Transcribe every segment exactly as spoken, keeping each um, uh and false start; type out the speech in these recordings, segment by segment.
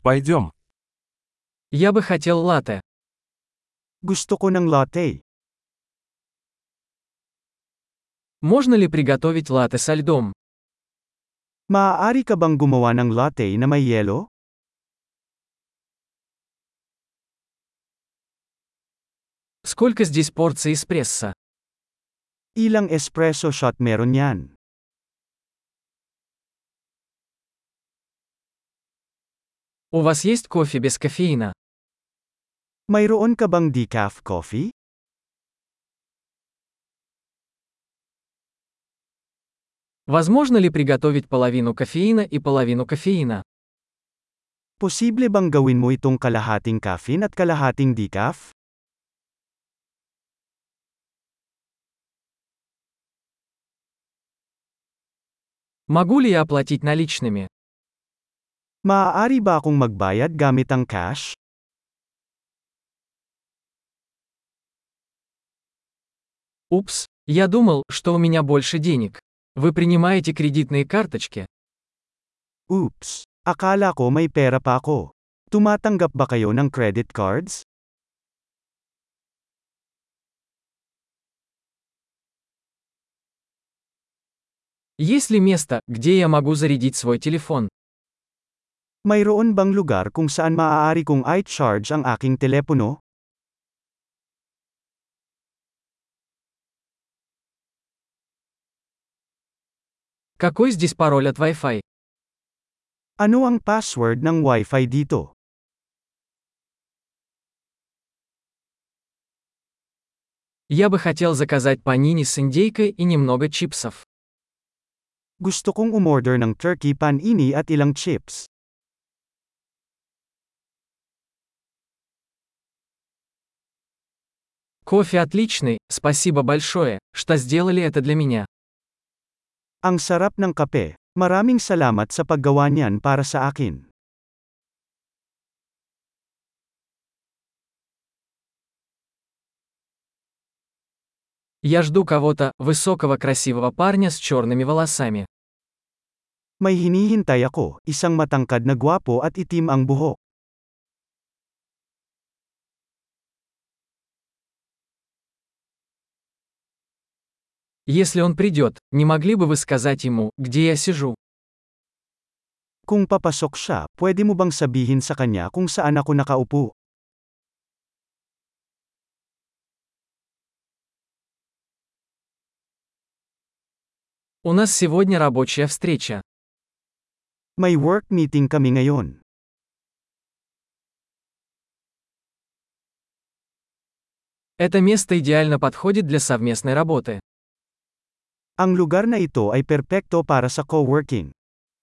Пойдем. Я бы хотел латте. Gusto ko ng latte. Можно ли приготовить латте со льдом? Maaari ka bang gumawa ng latte na may yelo? Сколько здесь порций эспрессо? Ilang espresso shot meron yan? У вас есть кофе без кофеина? Mayroon ka bang decaf coffee? Возможно ли приготовить половину кофеина и половину кофеина? Posible bang gawin mo itong kalahating caffeine at kalahating decaf? Могу ли я оплатить наличными? Maaari ba akong magbayad gamit ang cash? Упс, я думал, что у меня больше денег. Вы принимаете кредитные карточки? Oops! Akala ko may pera pa ako. Tumatanggap ba kayo ng credit cards? Есть ли место, где я могу зарядить свой телефон? Mayroon bang lugar kung saan maaari kong i-charge ang aking telepono? Какой здесь пароль от Wi-Fi? Ano ang password ng Wi-Fi dito? Я бы хотел заказать панини с индейкой и немного чипсов. Gusto kong umorder ng turkey panini at ilang chips. Кофе отличный, спасибо большое, что сделали это для меня. Ang sarap ng kape. Maraming salamat sa paggawa niyan para sa akin. Я жду кого-то, высокого красивого парня с черными волосами. May hinihintay ako, isang matangkad na gwapo at itim ang buhok. Если он придет, не могли бы вы сказать ему, где я сижу? Kung papasok siya, pwede mo bang sabihin sa kanya kung saan ako nakaupo? У нас сегодня рабочая встреча. May work meeting kami ngayon. Это место идеально подходит для совместной работы. Ang lugar na ito ay perpekto para sa co-working.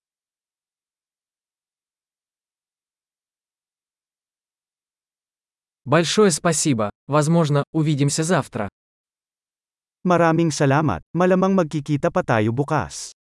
Большое спасибо, возможно, увидимся завтра. Maraming salamat, malamang magkikita pa tayo bukas.